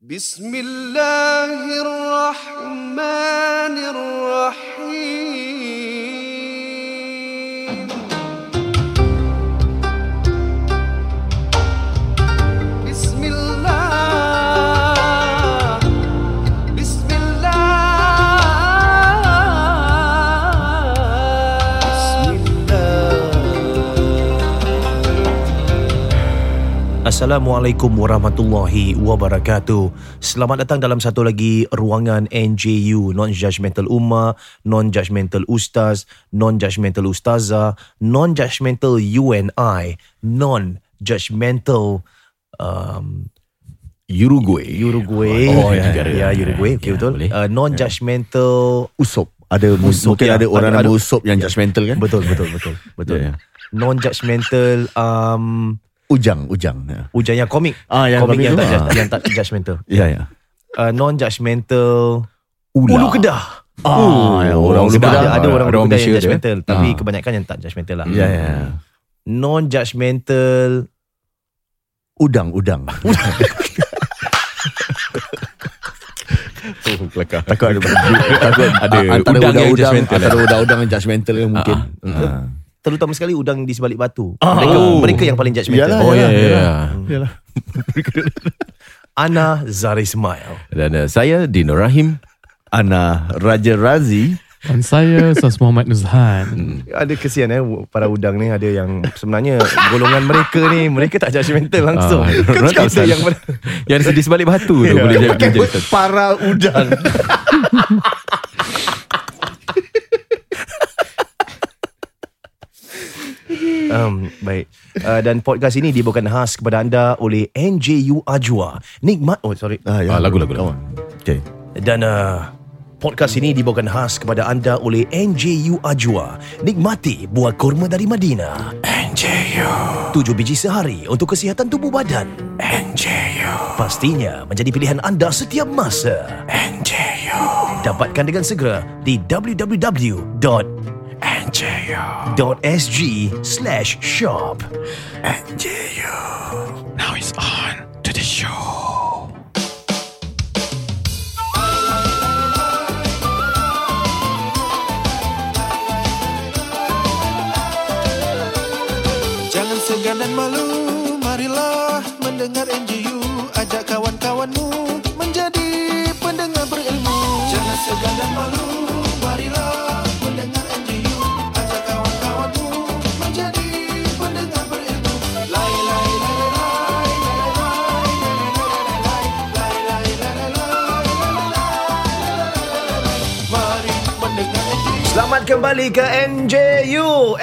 Bismillahirrahmanirrahim. Bismillah. Assalamualaikum warahmatullahi wabarakatuh. Selamat datang dalam satu lagi ruangan NJU, Non-Judgmental Ummah, Non-Judgmental Ustaz, Non-Judgmental Ustazah, Non-Judgmental UNI, Non-Judgmental Uruguay. Oh, ya, Uruguay, okay, betul. Non-Judgmental Usop. Mungkin ada orang nama Usop yang judgmental kan? Betul. Ya. Non-judgmental Ujang. Ujang yang komik. Yang komik komik yang tak judgmental. Ya. Non-judgmental Ulu Kedah. Orang Ulu Kedah. Ada orang Ulu Kedah Malaysia yang judgmental, tapi dia. kebanyakan yang tak judgmental lah. Ya. Non-judgmental Udang. Takut ada udang yang judgmental. Antara udang yang judgmental kan mungkin. terutama sekali udang di sebalik batu. Mereka yang paling judgmental. Yalah. Ana Zari Ismail. Dan saya Dino Rahim. Ana Raja Razi. Dan saya Ustaz Muhammad Nuzhan. Ada kesian para udang ni, ada yang sebenarnya golongan mereka tak judgmental langsung. Kata Yang di sebalik batu tu boleh jadi Para udang. Baik. Dan podcast ini dibawakan khas kepada anda oleh NJU Ajwa. lagu. Okay. Dan podcast ini dibawakan khas kepada anda oleh NJU Ajwa. Nikmati buah kurma dari Madinah. NJU. 7 biji sehari untuk kesihatan tubuh badan. NJU. Pastinya menjadi pilihan anda setiap masa. NJU. Dapatkan dengan segera di www.nju.sg/shop. NJU. Now it's on to the show. Jangan segan dan malu, marilah mendengar NJU. Ajak kawan-kawanmu menjadi pendengar berilmu. Jangan segan dan malu, marilah mendengar NJU. Ajak kawan-kawanmu menjadi pendengar berilmu. Lai lai lai lai lai lai lai lai. Mari mendengar NJU. Selamat kembali ke NJU.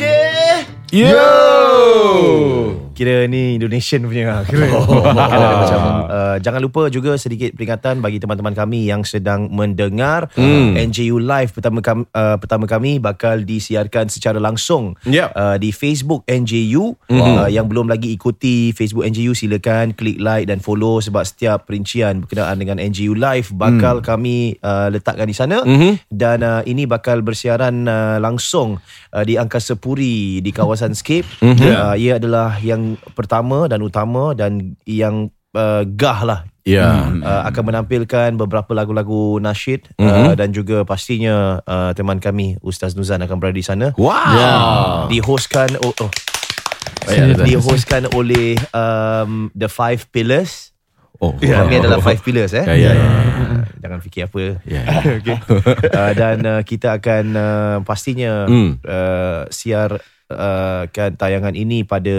Kira ni Indonesian punya. Jangan lupa juga sedikit peringatan bagi teman-teman kami yang sedang mendengar. NJU Live pertama kami bakal disiarkan secara langsung di Facebook NJU. Yang belum lagi ikuti Facebook NJU, silakan klik like dan follow, sebab setiap perincian berkenaan dengan NJU Live bakal kami letakkan di sana. Dan ini bakal bersiaran langsung di Angkasa Puri di kawasan Scape. Ia adalah yang pertama dan utama dan yang gah lah. Akan menampilkan beberapa lagu-lagu nasyid dan juga pastinya teman kami Ustaz Nuzhan akan berada di sana. Dihostkan dihostkan oleh The Five Pillars. Kami adalah Five Pillars. Jangan fikir apa. Okay. Dan kita akan pastinya siarkan tayangan ini pada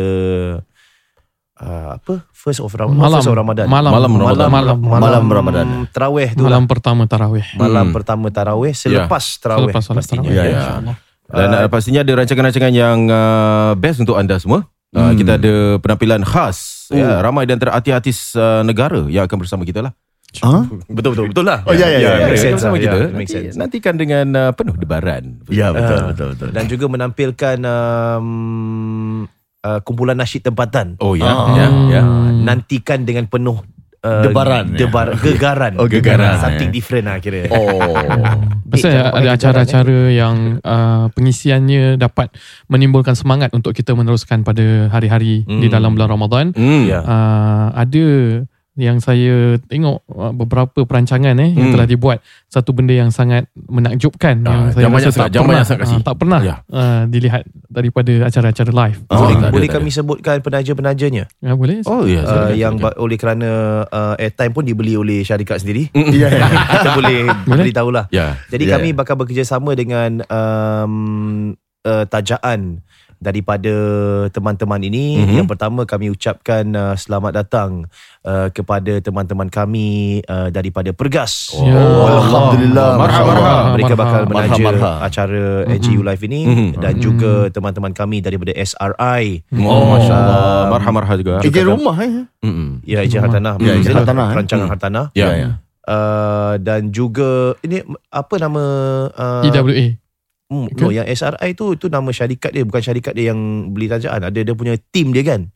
First of Ramadan. Malam Ramadan. Tarawih tu. Malam pertama tarawih. Malam pertama tarawih selepas tarawih pastinya. InsyaAllah. Dan pastinya ada rancangan-rancangan yang best untuk anda semua. Kita ada penampilan khas. Ramai di antara artis negara yang akan bersama kita lah. Betul lah. Make sense bersama kita. Make sense. Nantikan dengan penuh debaran. Ya, betul. Dan juga menampilkan kumpulan nasyid tempatan. Nantikan dengan penuh Debaran. Gegaran. Gegaran. Something different lah kira. Pasal ada acara-acara yang pengisiannya dapat menimbulkan semangat untuk kita meneruskan pada hari-hari di dalam bulan Ramadan. Ada yang saya tengok beberapa perancangan yang telah dibuat, satu benda yang sangat menakjubkan yang saya rasa tak pernah dilihat daripada acara-acara live. Boleh kami sebutkan penaja-penajanya? Boleh. Yang oleh kerana airtime pun dibeli oleh syarikat sendiri. Kita boleh beritahulah. Jadi kami bakal bekerjasama dengan tajaan daripada teman-teman ini. Yang pertama, kami ucapkan selamat datang kepada teman-teman kami daripada Pergas. Alhamdulillah. Mereka bakal menaja acara NGU Live ini. Dan juga teman-teman kami daripada SRI. Masya Allah. Marhah juga. Ejen rumah Ya, Ejen Hartanah. Perancangan Hartanah. Dan juga ini apa nama EWA. No, yang SRI tu nama syarikat dia, bukan syarikat dia yang beli tajaan. Ada dia punya team dia kan.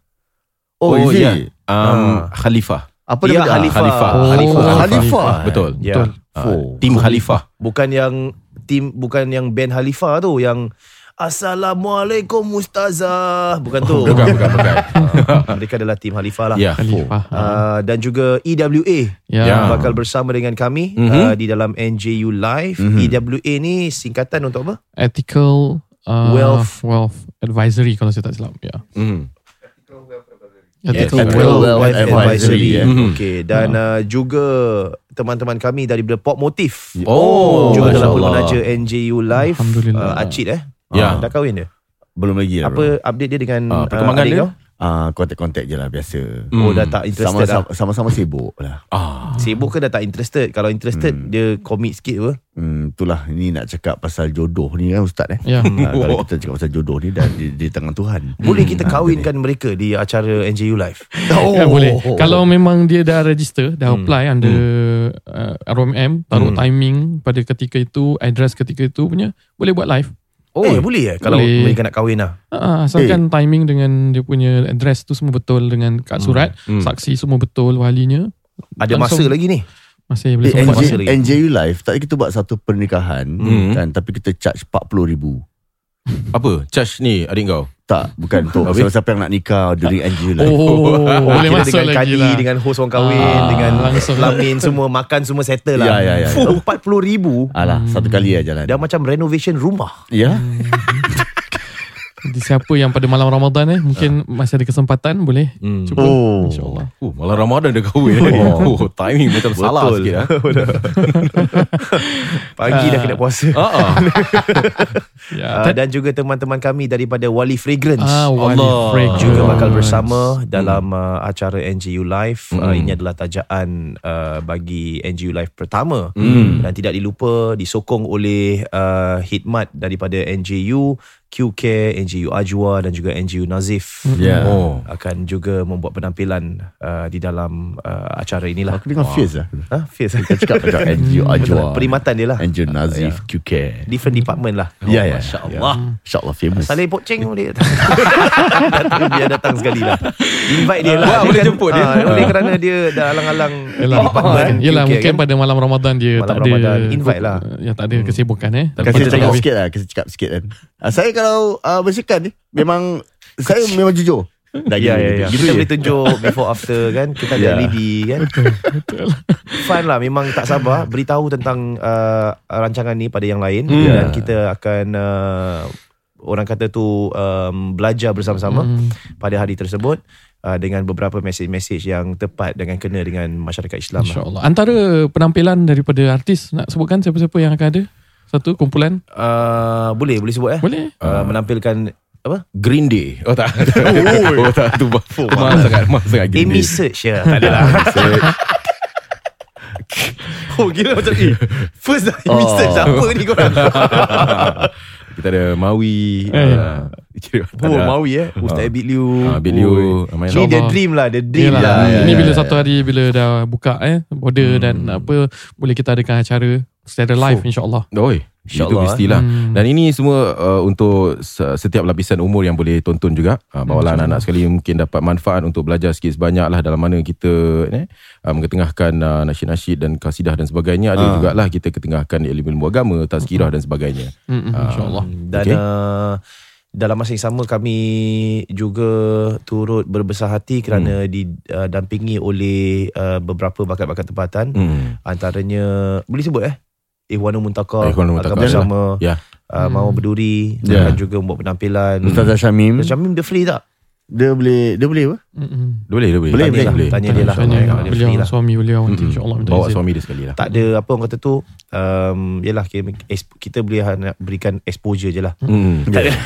Khalifah. Apa dia? Khalifah. Betul. Tim Khalifah. Bukan yang band Khalifah tu yang Assalamualaikum Ustazah. Bukan tu. Bukan. Mereka adalah tim Khalifah lah. Dan juga EWA bakal bersama dengan kami di dalam NJU Live. EWA ni singkatan untuk apa? Ethical Wealth Advisory kalau saya tak silap. Ethical Wealth Advisory. Okay. Dan juga teman-teman kami daripada Pop Motif juga dalam menaja NJU Live. Alhamdulillah. Acid dah kahwin dia? Belum lagi lah. Apa update dia dengan perkembangan adik dia? kau? Kontak-kontak je lah biasa. Dah tak interested Sama-sama sibuk lah. Sibuk ke dah tak interested? Kalau interested dia commit sikit apa? Itulah, ni nak cakap pasal jodoh ni kan Ustaz kalau kita cakap pasal jodoh ni dah di tangan Tuhan. Boleh kita kahwinkan mereka di acara NJU Live? Boleh. Kalau memang dia dah register, dah apply under ROMM, taruh timing pada ketika itu, address ketika itu punya, boleh buat live. Boleh kalau mereka nak kahwin lah. Asalkan timing dengan dia punya address tu semua betul, dengan kad surat, saksi semua betul, walinya. Ada masa lagi ni? Masih boleh sempat masa lagi. NJU Live, tadi kita buat satu pernikahan kan, tapi kita charge 40,000. Apa? Charge ni adik kau? Tak, bukan tu. Siapa yang nak nikah dari NJU Live. Boleh masuk dengan lagi kadi, lah. dengan hos orang kahwin, dengan lamin semua, makan semua settle lah. Ya. 40,000. Alah, satu kali aja lah. Dah macam renovation rumah. Ya. Jadi siapa yang pada malam Ramadan mungkin masih ada kesempatan, boleh cuba, insyaAllah. Malam Ramadan dah kahwin. Timing macam salah sikit. Pagi dah kena puasa. Dan juga teman-teman kami daripada Wali Fragrance juga bakal bersama dalam acara NJU Live. Ini adalah tajaan bagi NJU Live pertama. Dan tidak dilupa disokong oleh khidmat daripada NJU, QK, NJU Ajwa dan juga NJU Nazif akan juga membuat penampilan di dalam acara inilah. Aku dengar Fierce lah. Fierce. Kita cakap macam NJU Ajwa, perkhidmatan dia lah. NJU Nazif, QK. Different department lah. InsyaAllah. InsyaAllah famous. Saleh Poceng boleh biar datang sekali lah. Invite dia lah. Boleh jemput dia. Oleh kerana dia dah alang-alang Yelah, mungkin pada malam Ramadan dia malam tak ada Ramadan, invite lah. tak ada kesibukan. Kasih cakap sikit kan. Saya kalau bersihkan ni memang saya memang jujur. Kita boleh tunjuk before after kan. Kita ada LED kan. Betul. Fun lah. Memang tak sabar beritahu tentang rancangan ni pada yang lain. Dan kita akan orang kata tu belajar bersama-sama pada hari tersebut, dengan beberapa mesej-mesej yang tepat dengan kena dengan masyarakat Islam. InsyaAllah. Antara penampilan daripada artis, nak sebutkan siapa-siapa yang akan ada? Satu kumpulan? Boleh sebut Boleh. menampilkan apa? Green Day. Tak. Tak tu. Mahal sangat Green Day. Amy Search tak ada lah. Gila macam first dah Amy Search. Siapa ni korang? Kita ada Mawi. Mawi Ustaz Abid Liu. Ni dia dream lah. Ini bila satu hari bila dah buka border dan apa, boleh kita adakan acara secara live insyaAllah. Itu mestilah. Dan ini semua untuk setiap lapisan umur yang boleh tonton juga. Bawalah anak-anak sekali mungkin dapat manfaat untuk belajar sikit sebanyak lah dalam mana kita mengetengahkan nasyid-nasyid dan kasidah dan sebagainya. Ada jugalah kita ketengahkan ilmu agama, tazkirah dan sebagainya. InsyaAllah. Dan dalam masa yang sama kami juga turut berbesar hati kerana didampingi oleh beberapa bakat-bakat tempatan. Antaranya boleh sebut Ihwanul Muntaka akan bersama Mau Berduri dan juga membuat penampilan. Ustaz Syamim. Ustaz Syamim dia free tak? Dia boleh apa? Boleh. Tanya dia lah. Beliau suami beliau nanti insya-Allah bawa suami dia sekali lah. Tak ada apa orang kata tu, yalah kita boleh berikan exposure je lah. Tak ada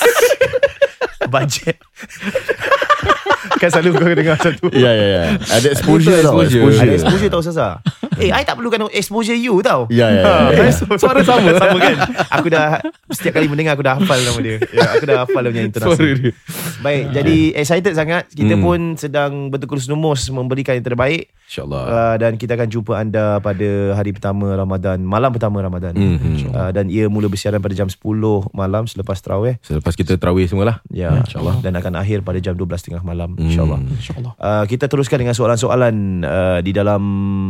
budget. Kan selalu kau dengar macam tu. Ya. Ada exposure tau. Ada exposure tau Ustazah. I tak perlukan exposure you tau. Ya. Suara sama kan. Aku dah setiap kali mendengar aku dah hafal nama dia. Aku dah hafal dia punya intonasi. Baik, jadi excited sangat. Kita pun sedang bertekurus-numus memberikan yang terbaik. InsyaAllah. Dan kita akan jumpa anda pada hari pertama Ramadan, malam pertama Ramadan. Dan ia mula bersiaran pada jam 10 malam selepas tarawih. Selepas kita tarawih semualah. Ya, insyaAllah. Dan akan akhir pada jam 12.30 malam, insyaAllah. Kita teruskan dengan soalan-soalan di dalam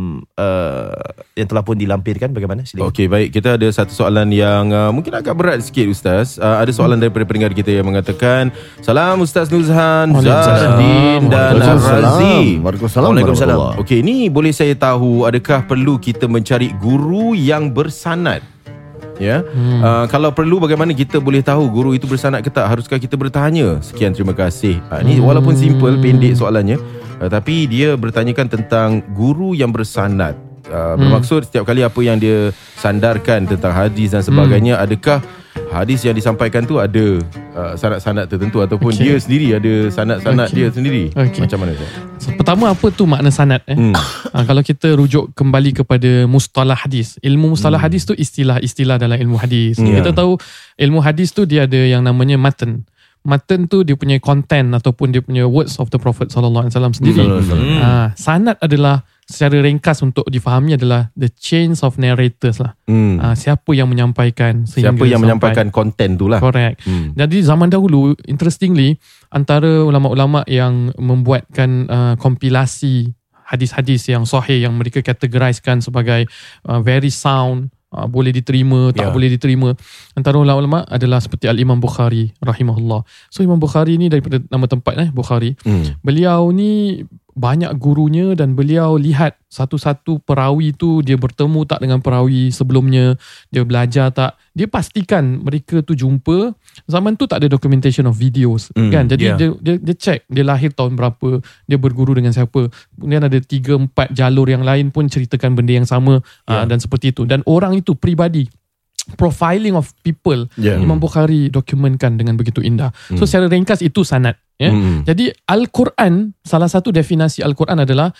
yang telah pun dilampirkan. Bagaimana? Silakan. Okey, baik. Kita ada satu soalan yang mungkin agak berat sikit Ustaz. Ada soalan daripada pendengar kita yang mengatakan, Salam Ustaz Nuzhan, Zahdin dan Razi. Waalaikumsalam. Okey, ni boleh saya tahu adakah perlu kita mencari guru yang bersanad? Ya. Kalau perlu, bagaimana kita boleh tahu guru itu bersanad ke tak? Haruskah kita bertanya? Sekian, terima kasih. Ni walaupun simple, pendek soalannya, tapi dia bertanyakan tentang guru yang bersanad. Bermaksud setiap kali apa yang dia sandarkan tentang hadis dan sebagainya, adakah hadis yang disampaikan tu ada sanad-sanad tertentu ataupun dia sendiri ada sanad-sanad dia sendiri. Macam mana tu? Pertama, apa tu makna sanad? Kalau kita rujuk kembali kepada mustalah hadis, ilmu mustalah hadis tu istilah-istilah dalam ilmu hadis. Kita tahu ilmu hadis tu dia ada yang namanya matan. Matan tu dia punya content ataupun dia punya words of the Prophet sallallahu alaihi wasallam sendiri. Sanad adalah secara ringkas untuk difahami adalah the chains of narrators lah. Siapa yang menyampaikan menyampaikan konten tu lah. Correct. Jadi zaman dahulu, interestingly, antara ulama-ulama yang membuatkan kompilasi hadis-hadis yang sahih yang mereka categorizekan sebagai very sound, boleh diterima, tak boleh diterima, antara ulama-ulama adalah seperti Al-Imam Bukhari rahimahullah. So Imam Bukhari ni daripada nama tempat Bukhari. Beliau ni banyak gurunya dan beliau lihat satu-satu perawi tu dia bertemu tak dengan perawi sebelumnya, dia belajar tak, dia pastikan mereka tu jumpa. Zaman tu tak ada documentation of videos kan, jadi dia check dia lahir tahun berapa, dia berguru dengan siapa, kemudian ada 3-4 jalur yang lain pun ceritakan benda yang sama, dan seperti itu. Dan orang itu pribadi, profiling of people, Imam Bukhari dokumentkan dengan begitu indah. So secara ringkas itu sanad. Jadi Al-Quran, salah satu definisi Al-Quran adalah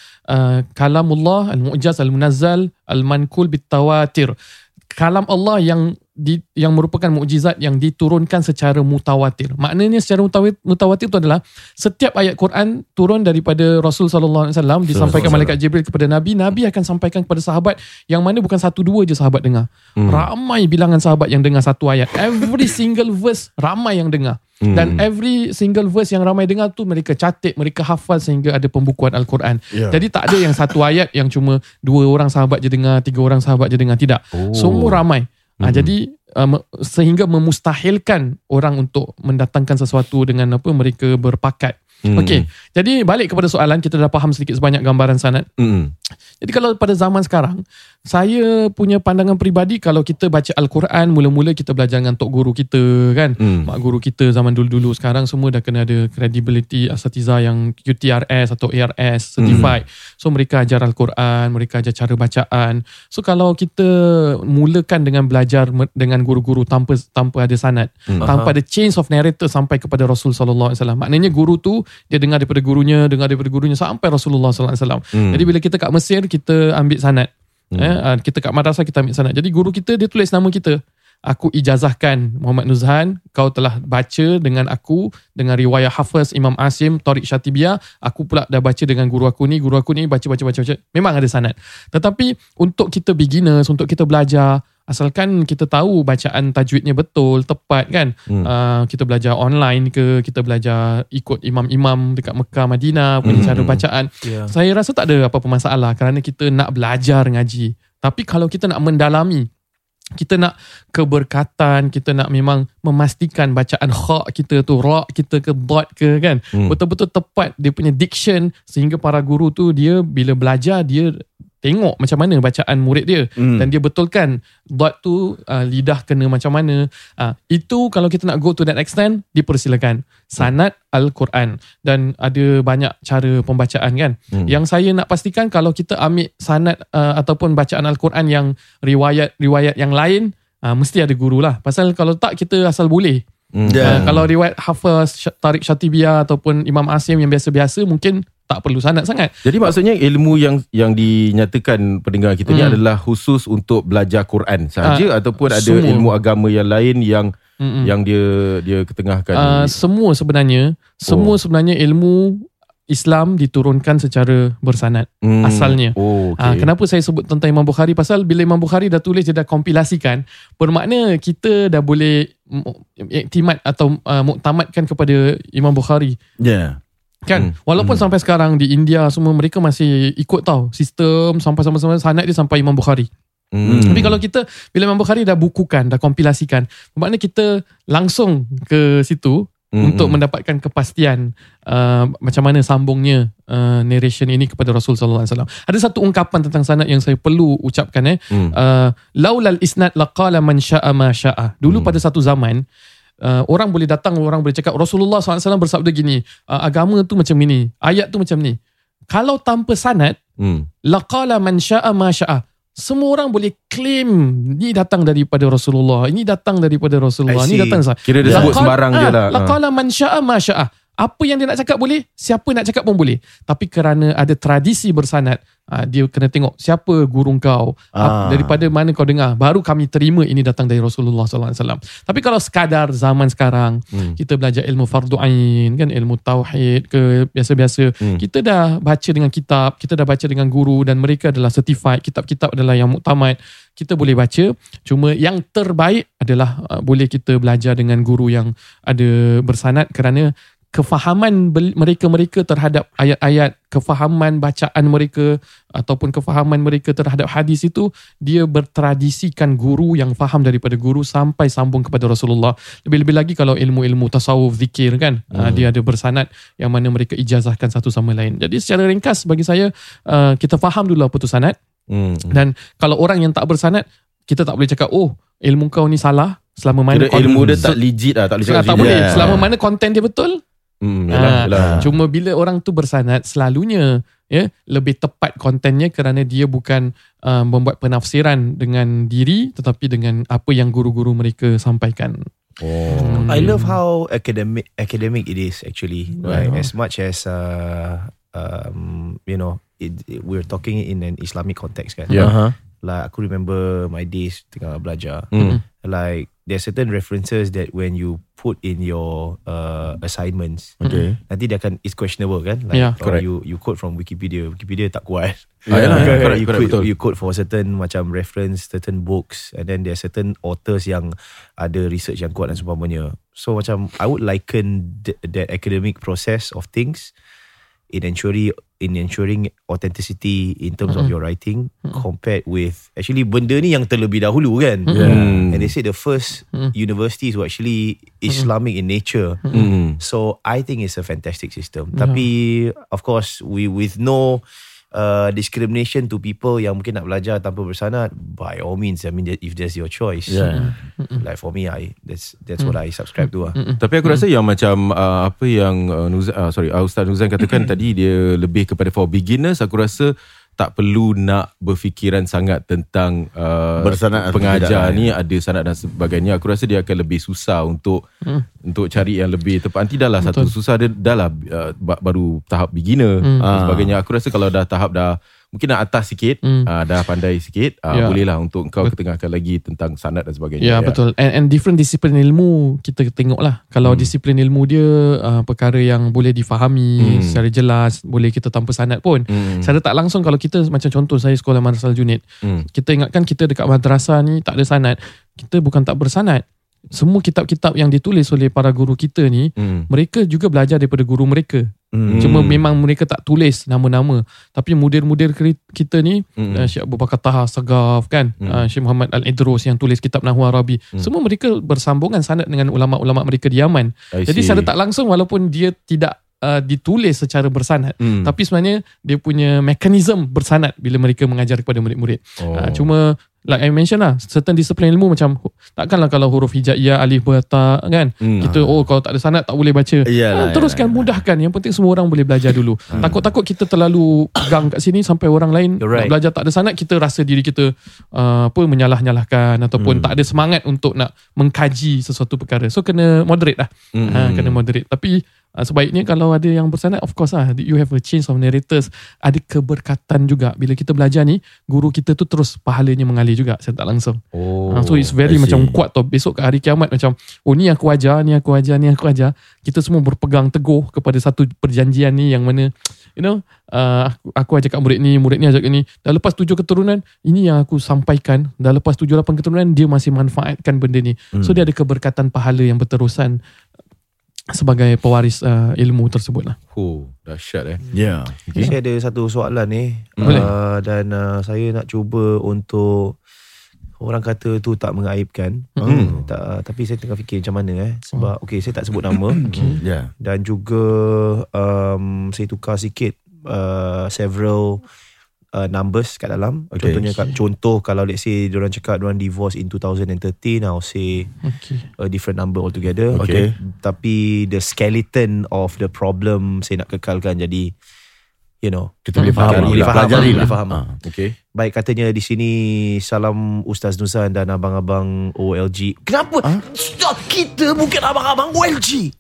kalamullah al-mu'jaz al-munazzal al-manqul bit-tawatir. Kalam Allah yang merupakan mukjizat yang diturunkan secara mutawatir. Maknanya secara mutawatir itu adalah setiap ayat Quran turun daripada Rasul sallallahu alaihi wasallam, disampaikan malaikat Jibril kepada Nabi, Nabi akan sampaikan kepada sahabat, yang mana bukan 1-2 je sahabat dengar. Ramai bilangan sahabat yang dengar satu ayat. Every single verse ramai yang dengar. Dan every single verse yang ramai dengar tu mereka catat, mereka hafal sehingga ada pembukuan Al-Quran. Jadi tak ada yang satu ayat yang cuma 2 orang sahabat je dengar, 3 orang sahabat je dengar. Tidak. Semua ramai. Jadi sehingga memustahilkan orang untuk mendatangkan sesuatu dengan mereka berpakat. Okey, jadi balik kepada soalan, kita dah faham sedikit sebanyak gambaran sanad. Jadi kalau pada zaman sekarang, saya punya pandangan peribadi, kalau kita baca Al-Quran, mula-mula kita belajar dengan tok guru kita kan, mak guru kita zaman dulu-dulu. Sekarang semua dah kena ada credibility asatiza yang QTRS atau ARS certified. So mereka ajar Al-Quran, mereka ajar cara bacaan. So kalau kita mulakan dengan belajar dengan guru-guru tanpa ada sanad, tanpa ada chains of narrator sampai kepada Rasul sallallahu alaihi wasallam, maknanya guru tu dia dengar daripada gurunya sampai Rasulullah sallallahu alaihi wasallam. Jadi bila kita kat Mesir, kita ambil sanad. Kita kat madrasah, kita ambil sanad. Jadi guru kita dia tulis nama kita. Aku ijazahkan Muhammad Nuzhan, kau telah baca dengan aku dengan riwayat Hafiz Imam Asim Tariq Syatibiyah, aku pula dah baca dengan guru aku ni baca. Memang ada sanad. Tetapi untuk kita beginners, untuk kita belajar, asalkan kita tahu bacaan tajwidnya betul, tepat kan. Kita belajar online ke, kita belajar ikut imam-imam dekat Mekah, Madinah punya cara bacaan. Saya rasa tak ada apa-apa masalah kerana kita nak belajar ngaji. Tapi kalau kita nak mendalami kita nak keberkatan, kita nak memang memastikan bacaan kha kita tu, ra kita ke dot ke kan, betul-betul tepat dia punya diction, sehingga para guru tu dia bila belajar dia tengok macam mana bacaan murid dia dan dia betulkan dot tu lidah kena macam mana. Itu kalau kita nak go to that extent, dipersilakan sanad Al-Quran, dan ada banyak cara pembacaan kan. Yang saya nak pastikan, kalau kita ambil sanad ataupun bacaan Al-Quran yang riwayat yang lain, mesti ada guru lah. Pasal kalau tak, kita asal boleh. Kalau riwayat Hafiz, Tariq Syatibiyah ataupun Imam Asim yang biasa-biasa, mungkin tak perlu sanad sangat. Jadi maksudnya ilmu yang dinyatakan pendengar kita ni adalah khusus untuk belajar Quran sahaja, ataupun ada semua ilmu agama yang lain yang dia ketengahkan? Semua sebenarnya ilmu Islam diturunkan secara bersanad asalnya. Kenapa saya sebut tentang Imam Bukhari? Pasal bila Imam Bukhari dah tulis, dia dah kompilasikan, bermakna kita dah boleh iktimad atau muktamadkan kepada Imam Bukhari. Kan, walaupun sampai sekarang di India semua mereka masih ikut tau sistem sampai sanad dia sampai Imam Bukhari. Tapi kalau kita, bila Imam Bukhari dah bukukan, dah kompilasikan, bermakna kita langsung ke situ untuk mendapatkan kepastian macam mana sambungnya narration ini kepada Rasul sallallahu alaihi wasallam. Ada satu ungkapan tentang sanad yang saya perlu ucapkan, laulal isnad laqala man syaa ma syaa. Dulu pada satu zaman, orang boleh datang, orang boleh cakap Rasulullah SAW bersabda gini, agama tu macam ni, ayat tu macam ni. Kalau tanpa sanad, laqala man syaa ma syaa. Semua orang boleh claim ni datang daripada Rasulullah, ini datang daripada Rasulullah, ni datang. Kira dia sebut sembarang je lah. Laqala man syaa ma syaa. Apa yang dia nak cakap boleh, siapa nak cakap pun boleh. Tapi kerana ada tradisi bersanad, dia kena tengok siapa guru kau, daripada mana kau dengar, baru kami terima ini datang dari Rasulullah SAW. Tapi kalau sekadar zaman sekarang, kita belajar ilmu fardu ain, kan, ilmu tauhid ke biasa-biasa, kita dah baca dengan kitab, kita dah baca dengan guru, dan mereka adalah certified, kitab-kitab adalah yang muktamad, kita boleh baca. Cuma yang terbaik adalah boleh kita belajar dengan guru yang ada bersanad, kerana kefahaman mereka terhadap ayat-ayat, kefahaman bacaan mereka ataupun kefahaman mereka terhadap hadis itu, dia bertradisikan guru yang faham daripada guru sampai sambung kepada Rasulullah. Lebih-lebih lagi kalau ilmu-ilmu tasawuf, zikir kan, dia ada bersanad yang mana mereka ijazahkan satu sama lain. Jadi secara ringkas bagi saya, kita faham dulu apa tu sanad. Dan kalau orang yang tak bersanad, kita tak boleh cakap ilmu kau ni salah selama mana ilmu dia tak legit lah, tak boleh cakap tak boleh selama mana konten dia betul. Cuma bila orang tu bersanad, selalunya lebih tepat kontennya, kerana dia bukan membuat penafsiran dengan diri, tetapi dengan apa yang guru-guru mereka sampaikan. I love how academic it is actually. Right? As much as we're talking in an Islamic context kan. Like aku remember my days tengah belajar. Like there are certain references that when you put in your assignments, nanti dia akan, it's questionable kan, like you quote from Wikipedia tak kuat. You quote for certain macam reference, certain books, and then there are certain authors yang ada research yang kuat dan seumpamanya. So macam I would liken that academic process of things in ensuring authenticity in terms of your writing, compared with actually benda ni yang terlebih dahulu kan. And they say the first universities were actually Islamic in nature. So I think it's a fantastic system. Tapi of course with no discrimination to people yang mungkin nak belajar tanpa bersanad, by all means, I mean, if that's your choice. Like for me, that's what I subscribe to. Tapi aku rasa yang macam apa yang Ustaz Nuzan katakan tadi, dia lebih kepada for beginners. Aku rasa tak perlu nak berfikiran sangat tentang bersanad pengajar ni ada sanad dan sebagainya. Aku rasa dia akan lebih susah untuk cari yang lebih tepat. Nanti dah lah satu susah, dia dah lah baru tahap beginner dan sebagainya. Aku rasa kalau dah tahap dah mungkin nak atas sikit, dah pandai sikit, bolehlah untuk kau ketengahkan lagi tentang sanad dan sebagainya. Betul. And different disiplin ilmu kita tengok lah. Kalau disiplin ilmu dia perkara yang boleh difahami secara jelas, boleh kita tanpa sanad pun. Secara tak langsung, kalau kita macam contoh saya sekolah Madrasah Al-Junaid, kita ingatkan kita dekat madrasah ni tak ada sanad. Kita bukan tak bersanad. Semua kitab-kitab yang ditulis oleh para guru kita ni, mereka juga belajar daripada guru mereka. Cuma memang mereka tak tulis nama-nama. Tapi mudir-mudir kita ni, Syekh Abu Bakar Taha Sagaf kan, Syekh Muhammad Al-Idrus yang tulis kitab Nahwu Arabi, semua mereka bersambungan sanad dengan ulama-ulama mereka di Yaman. Jadi secara tak langsung, walaupun dia tidak ditulis secara bersanad, tapi sebenarnya dia punya mekanisme bersanad bila mereka mengajar kepada murid-murid. Cuma like I mention lah, certain disiplin ilmu macam takkanlah kalau huruf hijaiyah, alif, bata kan, kita kalau tak ada sanad tak boleh baca. Teruskan, mudahkan. Yang penting semua orang boleh belajar dulu. Takut-takut kita terlalu pegang kat sini sampai orang lain nak belajar tak ada sanad, kita rasa diri kita menyalah-nyalahkan ataupun tak ada semangat untuk nak mengkaji sesuatu perkara. So kena moderate lah. Kena moderate. Tapi sebaiknya kalau ada yang bersanad, of course lah, you have a change of narrators. Ada keberkatan juga. Bila kita belajar ni, guru kita tu terus pahalanya mengalir juga secara tak langsung. So it's very macam kuat tau. Besok ke hari kiamat macam, ni aku ajar, ni aku ajar, ni aku ajar. Kita semua berpegang teguh kepada satu perjanjian ni yang mana, aku ajak kat murid ni ajak kat ni. Dah lepas 7 keturunan, ini yang aku sampaikan. Dah lepas 7-8 keturunan, dia masih manfaatkan benda ni. So dia ada keberkatan pahala yang berterusan sebagai pewaris ilmu tersebut lah. Dahsyat Ya. Saya ada satu soalan ni, dan saya nak cuba untuk, orang kata tu tak mengaibkan, tapi saya tengah fikir macam mana sebab saya tak sebut nama. Dan juga saya tukar sikit several numbers kat dalam. Contoh kalau let's say diorang cakap diorang divorce in 2013, I'll say a different number altogether. Tapi the skeleton of the problem saya nak kekalkan. Jadi kita boleh faham, boleh faham. Baik, katanya di sini, salam Ustaz Nuzan dan abang-abang OLG. Kenapa? Kita bukan abang-abang OLG.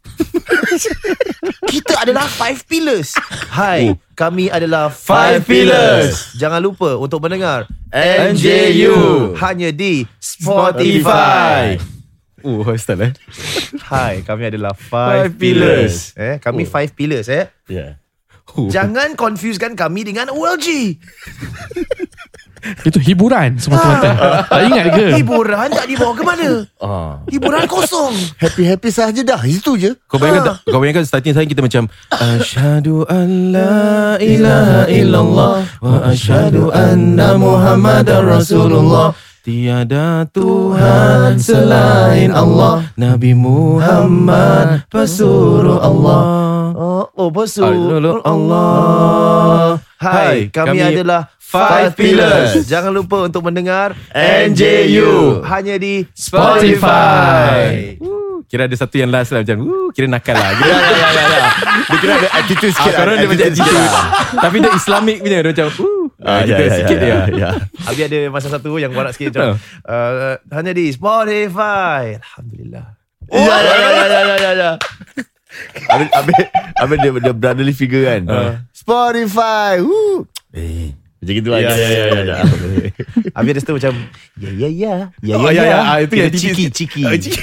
Kita adalah 5 Pillars. Hai, kami adalah 5 Pillars. Jangan lupa untuk mendengar NJU hanya di Spotify. Ustaz Hai, kami adalah 5 Pillars. Kami 5 Pillars Jangan confusekan kami dengan OLG. Itu hiburan semata-mata. Tak ingat ke? Hiburan tak dibawa ke mana? Hiburan kosong. Happy sahaja dah. Itu je. Kau bayangkan starting saya kita macam asyhadu an la ilaha illallah wa asyhadu anna Muhammadar Rasulullah. Tiada Tuhan selain Allah, Nabi Muhammad pesuruh Allah. Pesuruh Allah. Hai, kami adalah 5 Pillars. Jangan lupa untuk mendengar NJU hanya di Spotify. Kira ada satu yang last lah, macam kira nakal lah. Dia kira ada attitude sikit. Korang dia macam attitude. Tapi dia Islamic punya. Dia macam sikit dia. Habis ada masa satu yang warak sikit macam hanya di Spotify. Alhamdulillah. Ya. Habis dia brotherly figure kan. Spotify. Macam gitu lah. Ya. Habis ada satu macam ya. Itu yang ciki.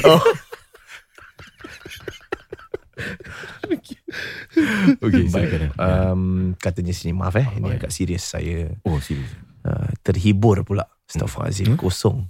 Baik. Katanya sini, maaf ini agak serius saya. Serius. Terhibur pula. Astaghfirullahaladzim, kosong.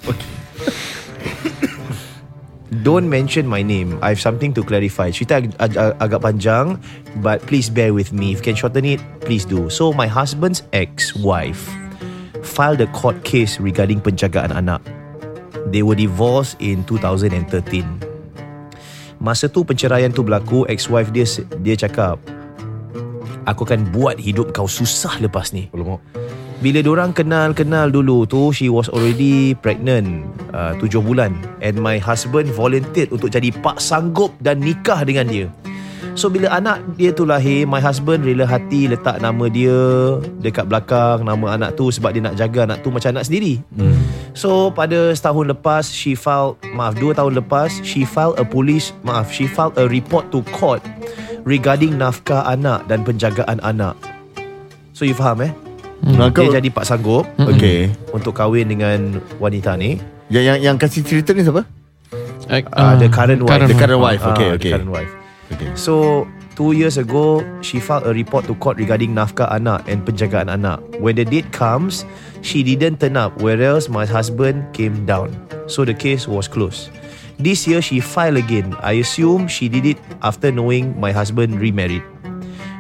Don't mention my name. I have something to clarify. Cerita agak panjang, but please bear with me. If you can shorten it, please do. So my husband's ex-wife filed a court case regarding penjagaan anak. They were divorced in 2013. Masa tu penceraian tu berlaku, ex-wife dia cakap, aku akan buat hidup kau susah lepas ni. Bila diorang kenal dulu tu, she was already pregnant 7 bulan. And my husband volunteered untuk jadi pak sanggup dan nikah dengan dia. So bila anak dia tu lahir, my husband rela hati letak nama dia dekat belakang nama anak tu, sebab dia nak jaga anak tu macam anak sendiri. So pada setahun lepas, 2 tahun lepas, she filed a report to court regarding nafkah anak dan penjagaan anak. So you faham Dia jadi pak sanggup untuk kahwin dengan wanita ni. Yang kasih cerita ni siapa? The current wife. The current wife. The current wife. So 2 years ago, she filed a report to court regarding nafkah anak and penjagaan anak. When the date comes, she didn't turn up, whereas my husband came down. So the case was closed. This year she filed again. I assume she did it after knowing my husband remarried.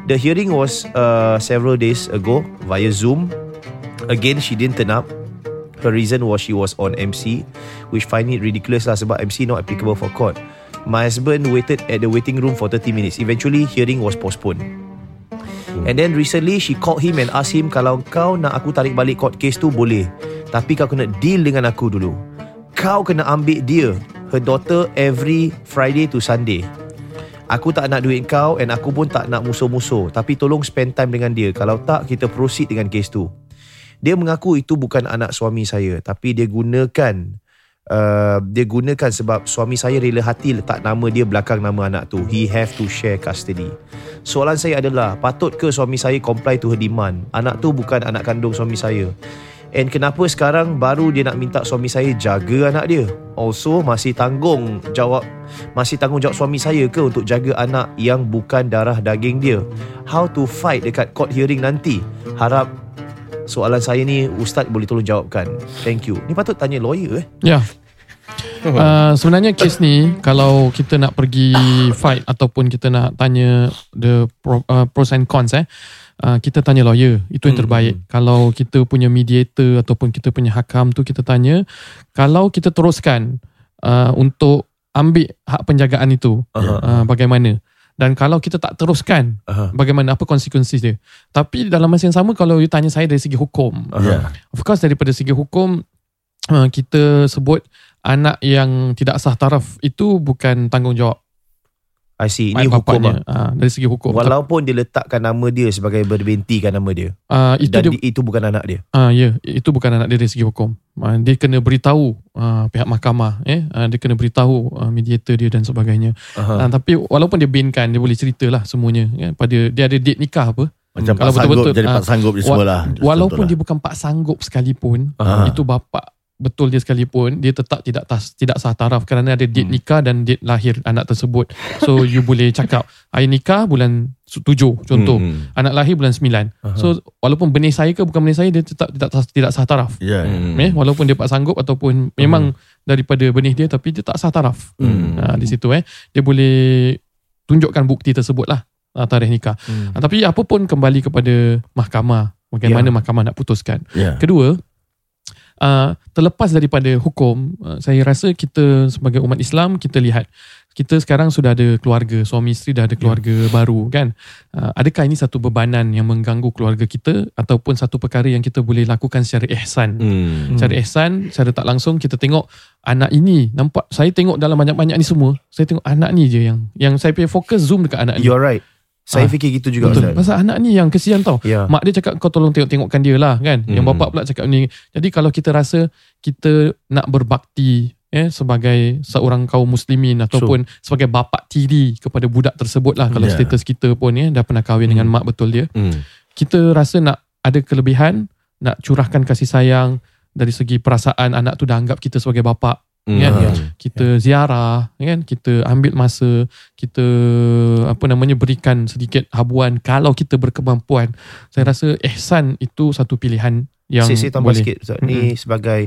The hearing was several days ago via Zoom. Again, she didn't turn up. Her reason was she was on MC, which find it ridiculous lah sebab MC not applicable for court. My husband waited at the waiting room for 30 minutes. Eventually, hearing was postponed. And then recently, she called him and asked him, kalau kau nak aku tarik balik court case tu boleh, tapi kau kena deal dengan aku dulu. Kau kena ambil dia, her daughter, every Friday to Sunday. Aku tak nak duit kau and aku pun tak nak musuh-musuh, tapi tolong spend time dengan dia. Kalau tak, kita proceed dengan case tu. Dia mengaku itu bukan anak suami saya, tapi dia gunakan sebab suami saya rela hati letak nama dia belakang nama anak tu. He have to share custody. Soalan saya adalah, patut ke suami saya comply to her demand? Anak tu bukan anak kandung suami saya. And kenapa sekarang baru dia nak minta suami saya jaga anak dia? Also, masih tanggungjawab suami saya ke untuk jaga anak yang bukan darah daging dia? How to fight dekat court hearing nanti? Harap soalan saya ni Ustaz boleh tolong jawabkan. Thank you. Ni patut tanya lawyer Ya. Sebenarnya kes ni, kalau kita nak pergi fight ataupun kita nak tanya the pros and cons, kita tanya lawyer. Itu yang terbaik. Kalau kita punya mediator ataupun kita punya hakam tu, kita tanya, kalau kita teruskan untuk ambil hak penjagaan itu, bagaimana? Dan kalau kita tak teruskan, bagaimana, apa konsekuensi dia? Tapi dalam masa yang sama, kalau you tanya saya dari segi hukum, of course daripada segi hukum, kita sebut anak yang tidak sah taraf itu bukan tanggungjawab. I see. Ini hukum dari segi hukum. Walaupun dia letakkan nama dia sebagai berbintikan nama dia. Itu bukan anak dia. Ya, itu bukan anak dia dari segi hukum. Dia kena beritahu pihak mahkamah, dia kena beritahu mediator dia dan sebagainya. Tapi walaupun dia binkan, dia boleh ceritalah semuanya. Dia ada date nikah apa. Macam pak sanggup, jadi pak sanggup dia semualah. Walaupun dia bukan pak sanggup sekalipun, itu bapa betul dia sekalipun, dia tetap tidak sah taraf kerana ada date nikah dan date lahir anak tersebut. So you boleh cakap hari nikah bulan 7 contoh, anak lahir bulan 9. So walaupun benih saya ke bukan benih saya, dia tetap tidak sah taraf. Walaupun dia pak sanggup ataupun memang daripada benih dia, tapi dia tak sah taraf. Di situ dia boleh tunjukkan bukti tersebut lah, tarikh nikah. Tapi apa pun kembali kepada mahkamah, bagaimana mahkamah nak putuskan. Kedua, terlepas daripada hukum, saya rasa kita sebagai umat Islam, kita lihat kita sekarang sudah ada keluarga, suami isteri dah ada keluarga baru kan. Adakah ini satu bebanan yang mengganggu keluarga kita ataupun satu perkara yang kita boleh lakukan secara ihsan? Secara ihsan, secara tak langsung kita tengok anak ini, nampak saya tengok dalam banyak-banyak ni semua, saya tengok anak ni je yang saya punya fokus zoom dekat anak ni. You're right. Saya fikir gitu juga. Betul. Pasal anak ni yang kesian tau. Mak dia cakap kau tolong tengok-tengokkan dia lah kan. Yang bapak pula cakap ni. Jadi kalau kita rasa kita nak berbakti sebagai seorang kaum muslimin ataupun sebagai bapa tiri kepada budak tersebut lah, kalau status kita pun dah pernah kahwin dengan mak betul dia, kita rasa nak ada kelebihan, nak curahkan kasih sayang dari segi perasaan, anak tu dah anggap kita sebagai bapa. Kita ziarah kan, kita ambil masa, kita berikan sedikit habuan kalau kita berkemampuan. Saya rasa ihsan itu satu pilihan yang saya tambah boleh. Sikit Ustaz. Ni sebagai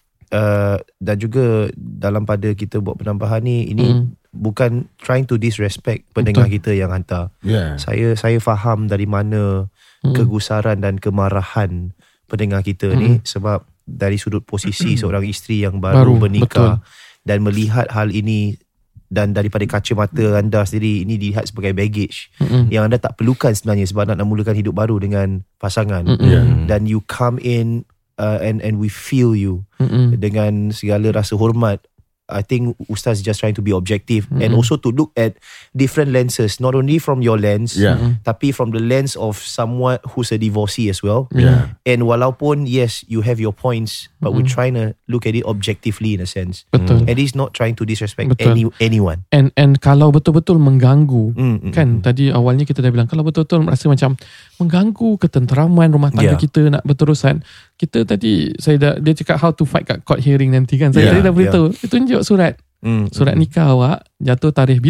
dan juga dalam pada kita buat penambahan ni, ini bukan trying to disrespect pendengar kita yang hantar. Saya faham dari mana kegusaran dan kemarahan pendengar kita ni, sebab dari sudut posisi seorang isteri yang baru bernikah dan melihat hal ini, dan daripada kacamata anda sendiri, ini dilihat sebagai baggage yang anda tak perlukan sebenarnya sebab nak mulakan hidup baru dengan pasangan. Dan you come in and we feel you dengan segala rasa hormat. I think Ustaz is just trying to be objective and also to look at different lenses, not only from your lens, tapi from the lens of someone who's a divorcee as well. And walaupun yes, you have your points, but we're trying to look at it objectively in a sense. Betul. And it's not trying to disrespect anyone. And kalau betul-betul mengganggu, kan tadi awalnya kita dah bilang, kalau betul-betul merasa macam mengganggu ketenteraman rumah tangga kita nak berterusan, kita tadi dia cakap how to fight kat court hearing nanti kan. Saya tadi dah beritahu, tunjuk surat nikah awak jatuh tarikh bila.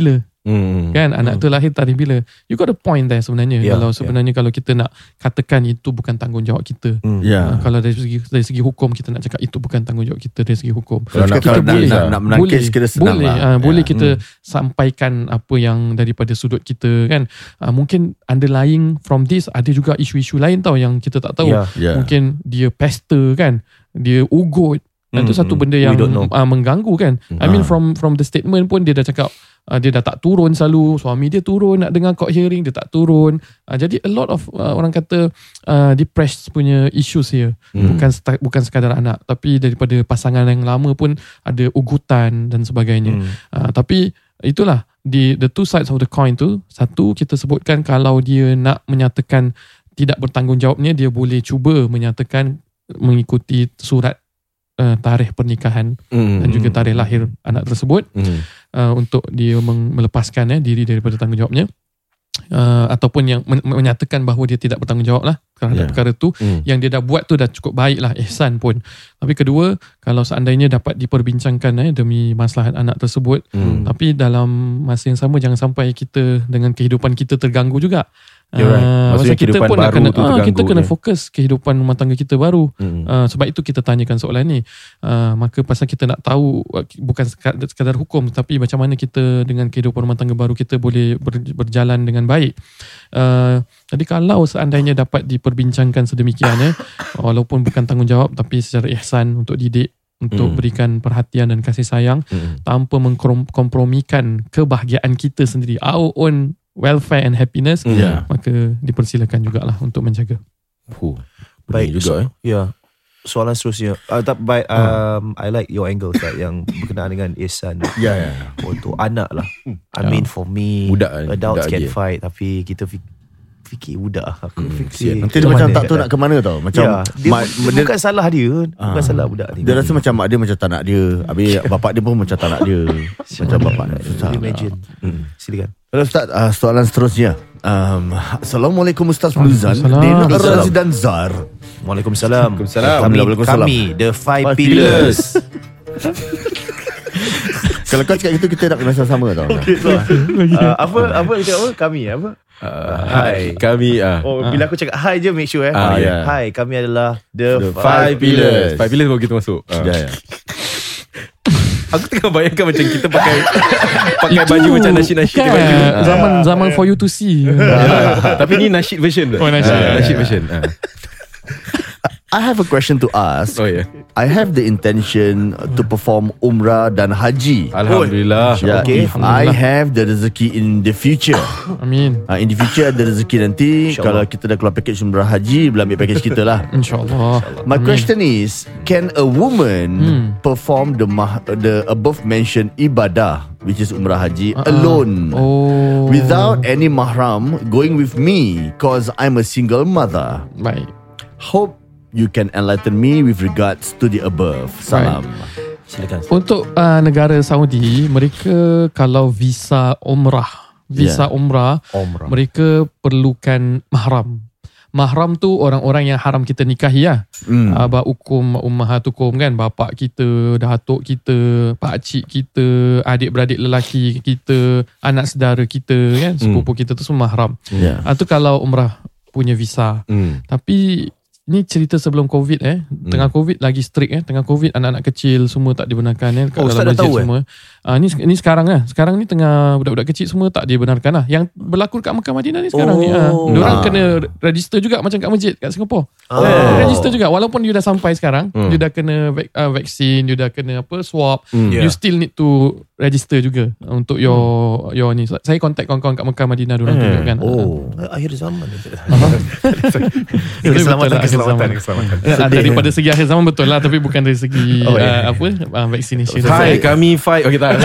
Kan anak tu lahir tarikh bila. You got a point there sebenarnya. Kalau sebenarnya kalau kita nak katakan itu bukan tanggungjawab kita. Kalau dari segi hukum kita nak cakap itu bukan tanggungjawab kita dari segi hukum. Kalau kita nak menangkis kita senang lah. Boleh kita sampaikan apa yang daripada sudut kita kan. Mungkin underlying from this ada juga isu-isu lain tau yang kita tak tahu. Mungkin dia pester kan. Dia ugut. Itu satu benda yang mengganggu kan. I mean from the statement pun dia dah cakap dia dah tak turun selalu. Suami dia turun nak dengar court hearing, dia tak turun. Jadi a lot of orang kata depressed punya issues here. Bukan sekadar anak, tapi daripada pasangan yang lama pun ada ugutan dan sebagainya. Tapi itulah the two sides of the coin tu. Satu, kita sebutkan kalau dia nak menyatakan tidak bertanggungjawabnya, dia boleh cuba menyatakan mengikuti surat tarikh pernikahan dan juga tarikh lahir anak tersebut untuk dia melepaskan diri daripada tanggungjawabnya, ataupun yang menyatakan bahawa dia tidak bertanggungjawab lah terhadap perkara tu. Yang dia dah buat tu dah cukup baik lah, ihsan pun. Tapi kedua, kalau seandainya dapat diperbincangkan demi maslahat anak tersebut, tapi dalam masa yang sama jangan sampai kita dengan kehidupan kita terganggu juga. Maksudnya kita pun nak kena kita kena fokus kehidupan rumah tangga kita baru. Sebab itu kita tanyakan soalan ni. Maka pasal kita nak tahu bukan sekadar hukum, tapi macam mana kita dengan kehidupan rumah tangga baru kita boleh berjalan dengan baik. Jadi kalau seandainya dapat diperbincangkan sedemikian walaupun bukan tanggungjawab tapi secara ihsan untuk didik, untuk berikan perhatian dan kasih sayang tanpa mengkompromikan kebahagiaan kita sendiri, our own welfare and happiness, maka dipersilakan jugalah untuk menjaga. Baik juga soalan seterusnya. I like your angle yang berkenaan dengan ihsan untuk anak lah. I mean for me, adults can fight, tapi kita fikir budak. Aku fikir nanti dia macam tak tahu nak ke mana tau. Macam bukan salah dia, bukan salah budak ni. Dia rasa macam mak dia macam tak nak dia, habis bapak dia pun macam tak nak dia. Macam bapak susah. Imagine. Silakan. Ustaz, soalan seterusnya. Assalamualaikum Ustaz Nuzan, Dina Razi dan Zar. Waalaikumsalam. Kami the 5 pillars. Kalau kau cakap gitu, kita nak kena sama tau. Apa kami apa? Hai, kami bila aku cakap hi je make sure Hi, kami adalah the 5 pillars. 5 pillars baru kita masuk. Aku tengah bayangkan macam kita pakai baju macam nasyid-nasyid Zaman for you to see. Tapi ni nasyid version tu. Nasyid version. I have a question to ask. I have the intention to perform umrah dan haji. Alhamdulillah. If I have the rezeki in the future. Amin. In the future ada rezeki nanti. Kalau kita dah keluar package umrah haji, boleh ambil package kita lah. InsyaAllah. My question is, can a woman perform the above mentioned ibadah, which is umrah haji, alone, without any mahram going with me, cause I'm a single mother? Baik. Hope you can enlighten me with regards to the above. Salam. Silakan. Untuk negara Saudi, mereka kalau visa umrah, mereka perlukan mahram. Mahram tu orang-orang yang haram kita nikahi lah. Abah ukum, ummahatukum kan, bapak kita, datuk kita, pakcik kita, adik-beradik lelaki kita, anak saudara kita kan, sepupu kita tu semua mahram. Itu kalau umrah punya visa. Tapi ni cerita sebelum COVID tengah COVID lagi strict tengah COVID anak-anak kecil semua tak dibenarkan kat dalam masjid semua. Ni sekarang sekarang ni tengah budak-budak kecil semua tak dibenarkan lah. Yang berlaku kat Mekah Madinah ni sekarang ni. Diorang kena register juga macam kat masjid kat Singapore. Register juga walaupun you dah sampai sekarang, you dah kena vaksin, you dah kena swab, you still need to register juga untuk your ni. Saya contact kawan-kawan kat Mekah Madinah diorang tunjukkan. Akhir zaman ni. Keselamatan. Daripada segi akhir zaman betul lah, tapi bukan dari segi vaccination. Hai, kami fight. Okay, tak.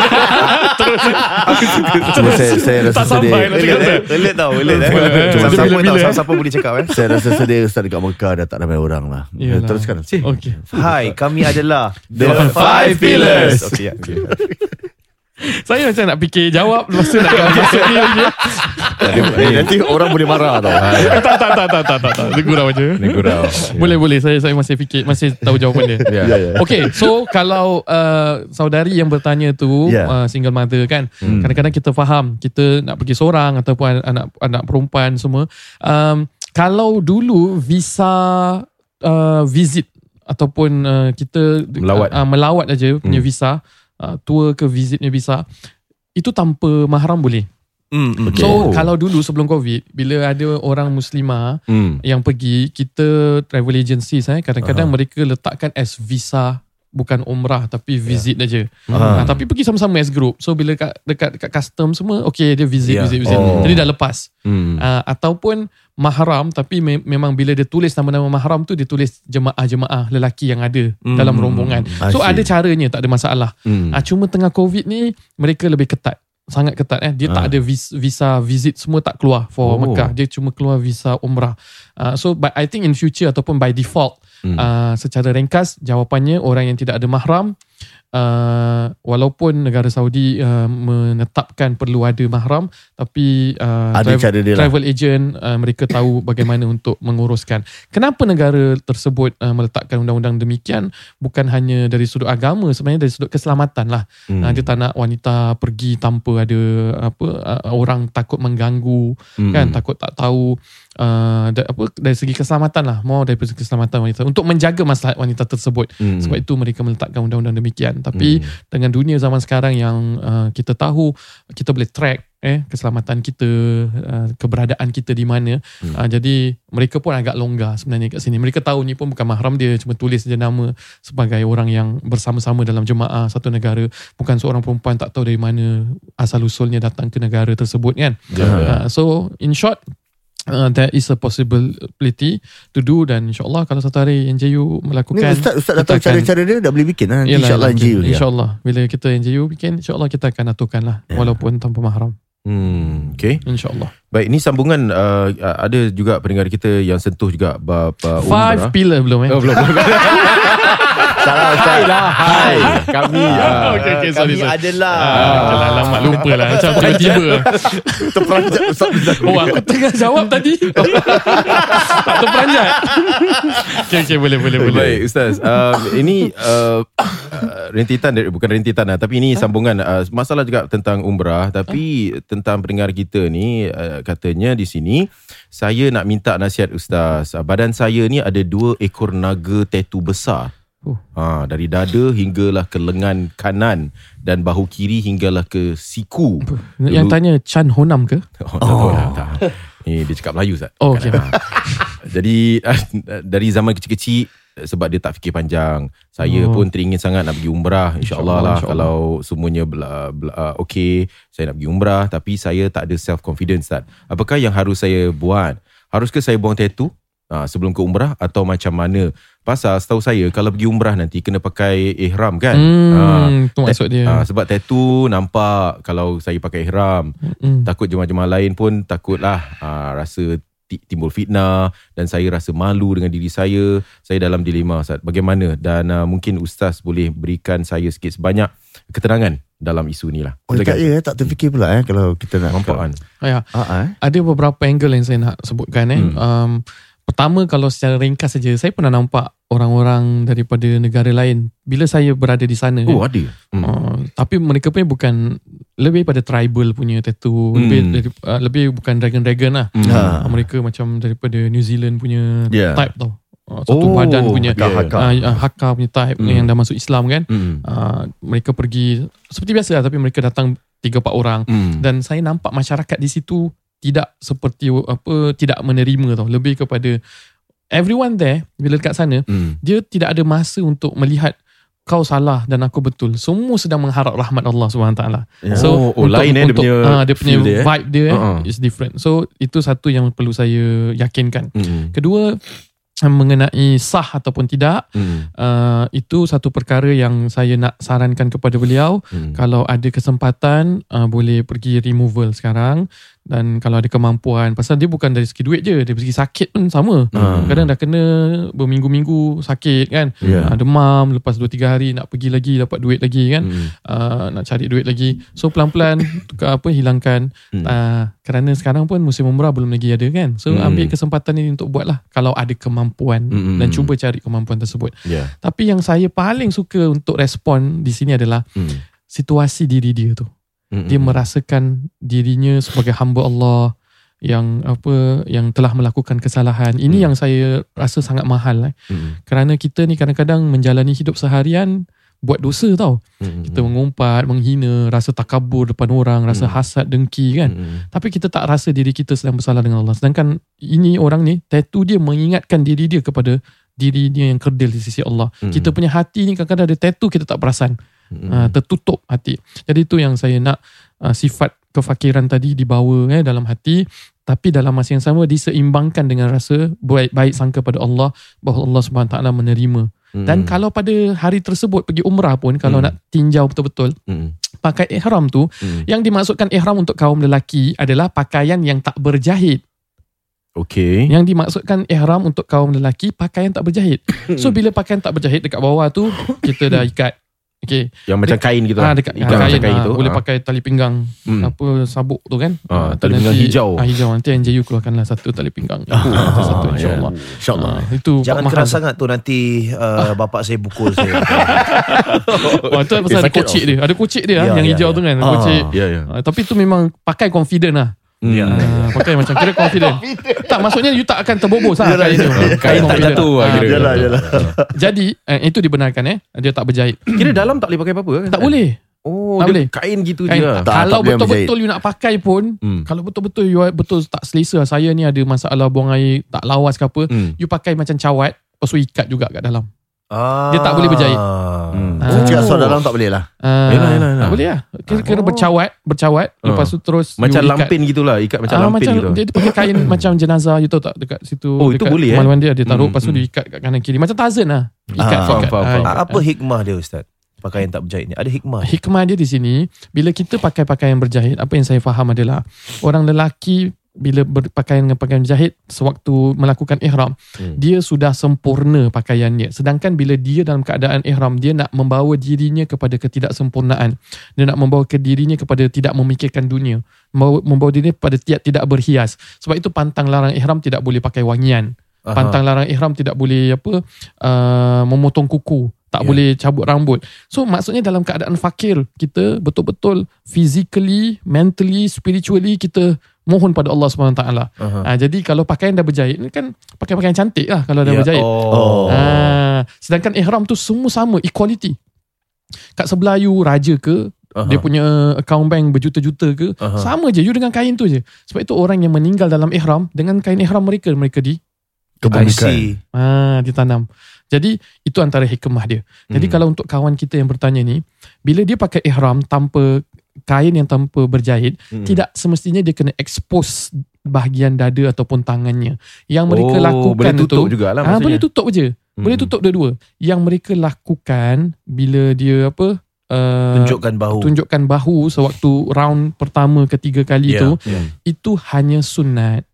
Saya rasa sedih. Relate tau. Siapa boleh cakap Saya rasa sedih Ustaz dekat Mekah dah tak ramai orang lah. Teruskan. Hai, kami adalah the 5 pillars. Saya macam nak fikir jawab, lepas tu nak masuk ni lagi. Nanti orang boleh marah tau. Tak. Gurau je. Gurau. Boleh. Saya masih fikir, masih tahu jawapan dia. Okay, so kalau saudari yang bertanya tu single mother kan, kadang-kadang kita faham kita nak pergi seorang ataupun anak perempuan semua. Kalau dulu visa visit ataupun kita melawat aja punya visa, tour ke visitnya visa, itu tanpa mahram boleh. Okay. So kalau dulu sebelum COVID, bila ada orang Muslimah yang pergi, kita travel agency kadang-kadang mereka letakkan as visa, bukan umrah tapi visit aja. Tapi pergi sama-sama as group. So bila dekat custom semua, okay, dia visit. Jadi dah lepas. Ataupun mahram, tapi memang bila dia tulis nama-nama mahram tu, dia tulis jemaah-jemaah lelaki yang ada dalam rombongan. So ada caranya, tak ada masalah. Cuma tengah COVID ni mereka lebih ketat, sangat ketat. Dia tak ada visa visit, semua tak keluar for Mekah. Dia cuma keluar visa umrah. So but I think in future ataupun by default, secara ringkas jawapannya, orang yang tidak ada mahram, walaupun negara Saudi menetapkan perlu ada mahram, tapi travel agent mereka tahu bagaimana untuk menguruskan. Kenapa negara tersebut meletakkan undang-undang demikian? Bukan hanya dari sudut agama, sebenarnya dari sudut keselamatan lah. Dia tak nak wanita pergi tanpa ada orang takut mengganggu, kan, takut tak tahu. Dari segi keselamatan lah, mau dari segi keselamatan wanita, untuk menjaga maslahat wanita tersebut. Sebab itu mereka meletakkan undang-undang demikian. Tapi dengan dunia zaman sekarang yang kita tahu, kita boleh track keselamatan kita, keberadaan kita di mana. Jadi mereka pun agak longgar sebenarnya kat sini. Mereka tahu ni pun bukan mahram dia, cuma tulis je nama sebagai orang yang bersama-sama dalam jemaah satu negara. Bukan seorang perempuan tak tahu dari mana asal usulnya datang ke negara tersebut, kan. So in short, there is a possibility to do, dan insyaAllah kalau satu hari NJU melakukan, Ustaz dah tahu cara-cara dia, dah boleh bikin lah. InsyaAllah NJU InsyaAllah bila kita NJU bikin, InsyaAllah kita akan aturkan lah, walaupun tanpa mahram. Okay. InsyaAllah. Baik, ini sambungan ada juga pendengar kita yang sentuh juga bab umrah. 5 pillar belum belum. Salah Ustaz. Hai kami okay, kami sorry. adalah Alamak, lupa lah. Macam tiba-tiba terperanjat Ustaz. aku tengah jawab tadi. Tak terperanjat. Okay, boleh. Baik Ustaz, ini rentetan, bukan rentetan lah, tapi ini sambungan masalah juga tentang umrah, tapi tentang pendengar kita ni, katanya di sini, saya nak minta nasihat Ustaz. Badan saya ni ada 2 ekor naga tattoo besar. Dari dada hinggalah ke lengan kanan dan bahu kiri hinggalah ke siku. Yang tanya Chan Honam ke? Tak. Ni dia cakap Melayu Ustaz. Okay. Jadi dari zaman kecil-kecil, sebab dia tak fikir panjang, saya pun teringin sangat nak pergi umrah. InsyaAllah lah, kalau semuanya okey, saya nak pergi umrah. Tapi saya tak ada self confidence Ustaz. Apakah yang harus saya buat? Haruskah saya buang tattoo sebelum ke umrah, atau macam mana? Pasal setahu saya kalau pergi umrah nanti kena pakai ihram, kan. Itu maksud dia. Sebab tattoo nampak, kalau saya pakai ihram, takut jemaah-jemaah lain pun takutlah rasa timbul fitnah, dan saya rasa malu dengan diri saya. Saya dalam dilema Ustaz. Bagaimana? Dan mungkin Ustaz boleh berikan saya sikit sebanyak keterangan dalam isu ni lah. Tak terfikir pula kalau kita nak nampak kan. Ada beberapa angle yang saya nak sebutkan. Pertama, kalau secara ringkas saja, saya pernah nampak orang-orang daripada negara lain bila saya berada di sana. Ada. Tapi mereka punya bukan, lebih pada tribal punya tattoo, lebih bukan dragon lah. Mereka macam daripada New Zealand punya type tau. Satu badan punya Hakka punya type yang dah masuk Islam, kan. Mereka pergi seperti biasa lah, tapi mereka datang 3-4 orang. Dan saya nampak masyarakat di situ tidak seperti tidak menerima tau. Lebih kepada everyone there, bila dekat sana, dia tidak ada masa untuk melihat kau salah dan aku betul. Semua sedang mengharap rahmat Allah SWT. So lain dia punya vibe dia is different. So itu satu yang perlu saya yakinkan. Kedua, mengenai sah ataupun tidak, itu satu perkara yang saya nak sarankan kepada beliau. Kalau ada kesempatan, boleh pergi removal sekarang. Dan kalau ada kemampuan, pasal dia bukan dari segi duit je, dari segi sakit pun sama. Kadang dah kena berminggu-minggu sakit kan, demam, lepas 2-3 hari nak pergi lagi dapat duit lagi kan, nak cari duit lagi. So pelan-pelan hilangkan. Kerana sekarang pun musim umrah belum lagi ada kan, so ambil kesempatan ini untuk buat lah kalau ada kemampuan, dan cuba cari kemampuan tersebut. Tapi yang saya paling suka untuk respon di sini adalah situasi diri dia tu. Dia merasakan dirinya sebagai hamba Allah yang telah melakukan kesalahan. Ini yang saya rasa sangat mahal. Kerana kita ni kadang-kadang menjalani hidup seharian buat dosa tau. Kita mengumpat, menghina, rasa takabur depan orang, rasa hasad, dengki kan. Tapi kita tak rasa diri kita sedang bersalah dengan Allah. Sedangkan ini orang ni, tattoo dia mengingatkan diri dia kepada diri dia yang kerdil di sisi Allah. Kita punya hati ni kadang-kadang ada tattoo kita tak perasan. Tertutup hati. Jadi itu yang saya nak, sifat kefakiran tadi dibawa dalam hati, tapi dalam masa yang sama diseimbangkan dengan rasa baik sangka pada Allah, bahawa Allah SWT menerima. Dan kalau pada hari tersebut pergi umrah pun, kalau nak tinjau betul-betul, pakai ihram tu, yang dimaksudkan ihram untuk kaum lelaki adalah pakaian yang tak berjahit. Okay. Yang dimaksudkan ihram untuk kaum lelaki, pakaian tak berjahit. So bila pakaian tak berjahit, dekat bawah tu kita dah ikat. Okay. Yang macam kain gitu lah. Dekat kain tu. Boleh pakai tali pinggang, sabuk tu kan. Tali pinggang hijau. Hijau. Nanti NJU keluarkanlah satu tali pinggang. Satu insyaAllah. Itu jangan keras sangat tu, nanti bapak saya pukul saya. Itu pasal ada kocik dia. Ada kocik dia yang hijau tu kan. Kocik. Tapi tu memang pakai confident lah. Pakai macam kira confident. Tak, maksudnya you tak akan terbobos lah kain tak jatuh. Jadi itu dibenarkan dia tak berjahit. Kira dalam tak boleh pakai apa-apa kan? Tak boleh. Tak boleh. Kain gitu je. Kalau betul-betul you nak pakai pun, kalau betul-betul you betul tak selesa, saya ni ada masalah buang air tak lawas ke apa, you pakai macam cawat, lepas tu ikat juga kat dalam. Dia tak boleh berjahit. So dalam tak boleh lah. Tak boleh lah. Kira bercawat, lepas tu terus macam lampin gitulah, ikat macam lampin gitu. Dia pakai kain macam jenazah, you tahu tak, dekat situ. Itu boleh kemaluan dia taruh, lepas tu dia ikat kat kanan kiri macam Tarzan lah. Ikat. Apa hikmah dia, Ustaz? Pakaian tak berjahit ni ada hikmah. Hikmah dia di sini, bila kita pakai pakaian berjahit, apa yang saya faham adalah orang lelaki bila berpakaian dengan pakaian berjahit sewaktu melakukan ihram, dia sudah sempurna pakaiannya. Sedangkan bila dia dalam keadaan ihram, dia nak membawa dirinya kepada ketidaksempurnaan. Dia nak membawa dirinya kepada tidak memikirkan dunia, membawa dirinya kepada tidak berhias. Sebab itu pantang larang ihram tidak boleh pakai wangian. Pantang larang ihram tidak boleh memotong kuku, tak boleh cabut rambut. So maksudnya dalam keadaan fakir, kita betul-betul physically, mentally, spiritually kita mohon pada Allah SWT. Jadi kalau pakaian dah berjahit, ni kan pakaian cantik lah kalau dah berjahit. Sedangkan ihram tu semua sama, equality. Kat sebelah you raja ke, dia punya account bank berjuta-juta ke, sama je you dengan kain tu je. Sebab itu orang yang meninggal dalam ihram, dengan kain ihram mereka kebumikan. Ditanam. Jadi itu antara hikmah dia. Jadi kalau untuk kawan kita yang bertanya ni, bila dia pakai ihram tanpa kain yang tanpa berjahit, tidak semestinya dia kena expose bahagian dada ataupun tangannya. Yang mereka lakukan boleh tutup jugalah maksudnya. Boleh tutup je. Boleh tutup dua-dua. Yang mereka lakukan bila dia tunjukkan bahu sewaktu round pertama ketiga kali itu hanya sunat.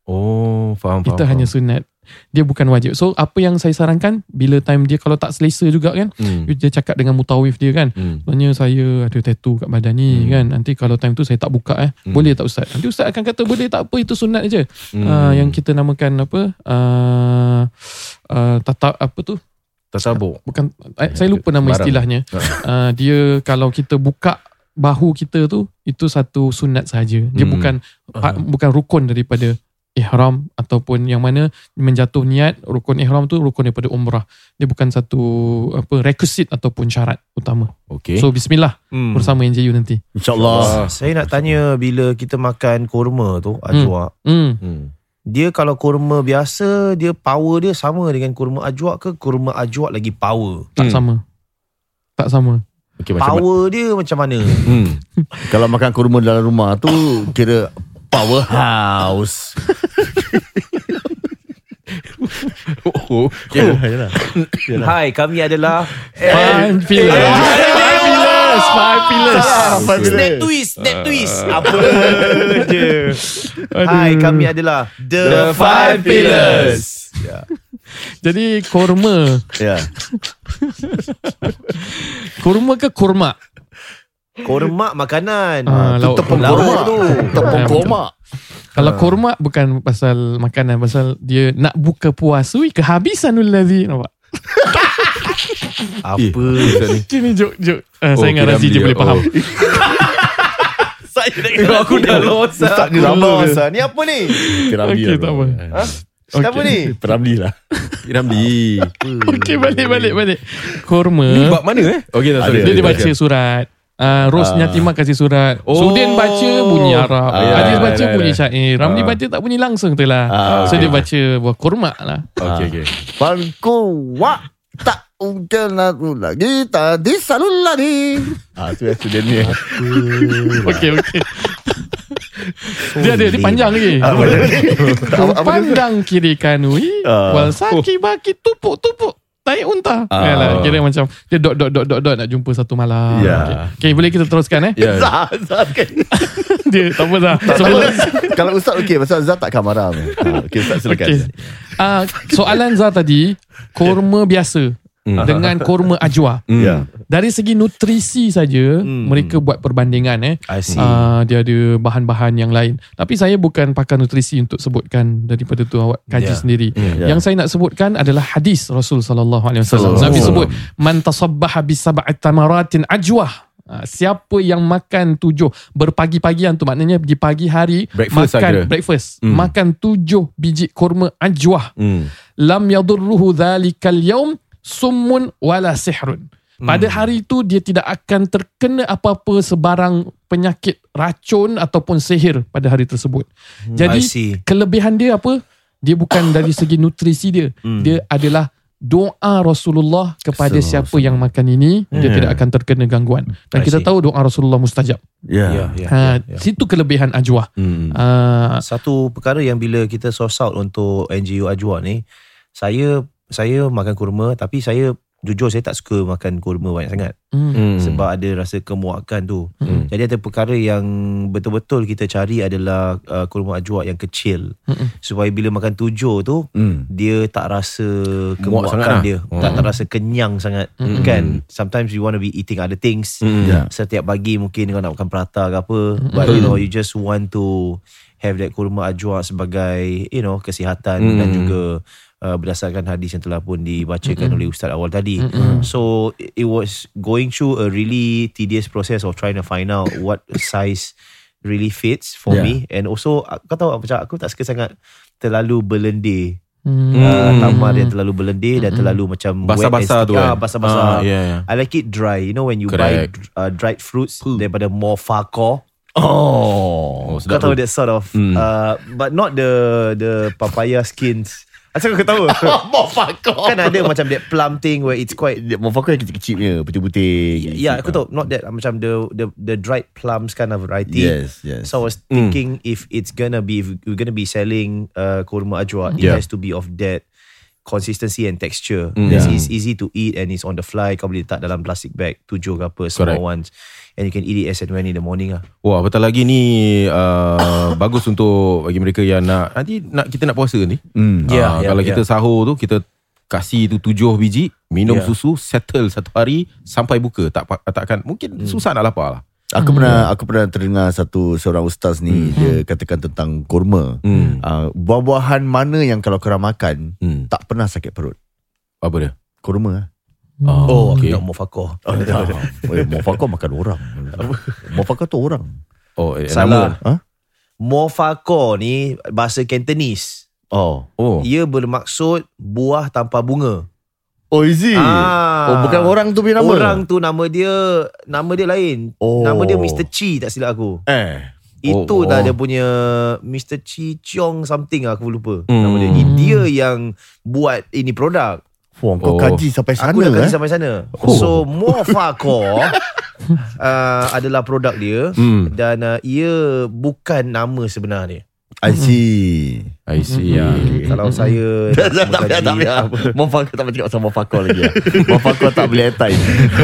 Faham. Itu hanya sunat. Dia bukan wajib. So apa yang saya sarankan, bila time dia kalau tak selesa juga kan, dia cakap dengan mutawif dia kan, sebenarnya saya ada tattoo kat badan ni kan, nanti kalau time tu saya tak buka boleh tak Ustaz? Nanti Ustaz akan kata boleh tak apa, itu sunat je. Yang kita namakan tasabuk. Bukan, saya lupa nama istilahnya. Dia kalau kita buka bahu kita tu, itu satu sunat sahaja. Dia bukan rukun daripada ihram, ataupun yang mana menjatuh niat rukun ihram tu rukun daripada umrah. Dia bukan satu requisite ataupun syarat utama. So bismillah bersama NJU nanti, InsyaAllah. Saya nak tanya, bila kita makan kurma tu ajwa, dia kalau kurma biasa, dia power dia sama dengan kurma ajwa ke kurma ajwa lagi power? Tak sama. Power dia macam mana? Kalau makan kurma dalam rumah tu kira powerhouse. Hai, kami adalah Fun Filler. Snap twist. Apa je. Hai, kami adalah The Five Pillars. Jadi korma. Ya. Korma ke korma? Korma makanan. Lauk Tepung lauk korma tu. Tepung Ah, korma. Kalau korma bukan pasal makanan, pasal dia nak buka puasa, kehabisanul ladzi. Nampak? Apa? Ini joke. Saya dengan Razi je boleh faham. Saya nak aku dah lost. Ustaz ni Aku lama. lost. Ni apa ni? Piramli Okey, tak apa. Siapa ni? Piramli lah. Ramli. Okey, balik. Korma. Ni bab mana Okey, tak sorry. Dia baca surat. Rosnya Timah kasih surat. Sudin baca bunyi Arab. Aziz baca bunyi syair. Ramli baca tak bunyi langsung tu lah. So dia baca buah kurma lah. Okey. Panku wa tak ungkel aku lagi tadi salul lagi. Tu student ni. Okey. Dia panjang lagi. Pandang kiri kanui wal saki baki tupuk taik unta. Yalah, kira macam dia dot nak jumpa satu malam. Okay, boleh kita teruskan Zat kan. Dia tak apa dah. Kalau Ustaz okey, pasal Zat takkan marah. Okey, Ustaz silakan. Soalan Zah tadi, korma biasa dengan korma ajwa. Ya. Dari segi nutrisi saja, mereka buat perbandingan. I see. Dia ada bahan-bahan yang lain. Tapi saya bukan pakar nutrisi untuk sebutkan daripada tu awak kaji sendiri. Yang saya nak sebutkan adalah hadis Rasul sallallahu alaihi wasallam. Nabi sebut man tasabbaha bi sab'ati tamaratin ajwah. Siapa yang makan 7 berpagi-pagian tu, maknanya di pagi hari makan 7 biji kurma ajwah. Lam yadurruhu dhalikal yaum summun wala sihrun. Pada hari itu dia tidak akan terkena apa-apa sebarang penyakit racun ataupun sihir pada hari tersebut. Jadi kelebihan dia apa? Dia bukan dari segi nutrisi dia. Dia adalah doa Rasulullah kepada siapa yang makan ini, dia tidak akan terkena gangguan. Dan kita tahu doa Rasulullah mustajab. Situ kelebihan ajwa. Satu perkara yang bila kita source out untuk NGU Ajwa ni, saya makan kurma, tapi jujur saya tak suka makan kurma banyak sangat. Sebab ada rasa kemuakan tu. Jadi ada perkara yang betul-betul kita cari adalah kurma ajwa yang kecil. Supaya bila makan 7 tu, dia tak rasa kemuakan dia. Tak rasa kenyang sangat. Kan? Sometimes you want to be eating other things. Setiap pagi mungkin kau nak makan prata ke apa. But you just want to have that kurma ajwa sebagai kesihatan dan juga berdasarkan hadis yang telah pun dibacakan oleh Ustaz awal tadi. So it was going through a really tedious process of trying to find out what size really fits for me. And also kau tahu macam aku tak suka sangat terlalu berlendir. Tamar yang terlalu berlendir dan terlalu macam basah-basah tu kan. Basah-basah. I like it dry. You know when you buy dried fruits daripada Mofako. Kau tahu that sort of but not the papaya skins. Asal kau tahu? Mofako. Kan ada macam that plum thing where it's quite Mofako yang kecil-kecil punya, putih-putih. Yeah, aku tahu. Not that macam the dried plums kind of variety. Yes. So I was thinking if we're gonna be selling kurma ajwa, it has to be of that consistency and texture. It's easy to eat and it's on the fly. Kau boleh letak dalam plastic bag 7 ke apa, small ones. And you can eat it as and when in the morning lah. Wah, betul lagi ni bagus untuk bagi mereka yang kita nak puasa ni. Kalau kita sahur tu, kita kasih tu 7 biji, minum susu, settle satu hari sampai buka. Takkan mungkin susah nak lapar lah. Aku pernah terdengar seorang ustaz ni, dia katakan tentang kurma. Buah-buahan mana yang kalau korang makan tak pernah sakit perut? Apa dia? Kurma. Okay. Mofako. Mofako makan orang. Mofako tu orang. Salah. Mofako ni bahasa Cantonese. Ia bermaksud buah tanpa bunga. Is it? Bukan orang tu punya nama. Orang tu nama dia lain. Nama dia Mr. Chi, tak silap aku. Itu dah dia punya Mr. Chi Chong something, aku lupa nama dia. Dia yang buat ini produk. Kau kaji sampai sana. Aku dah kaji sampai sana. So Mofako adalah produk dia. Dan ia bukan nama sebenar dia. I see. Kalau saya Tak payah. Mufakor tak boleh cakap pasal Mufakor lagi. Mufakor tak boleh airtime.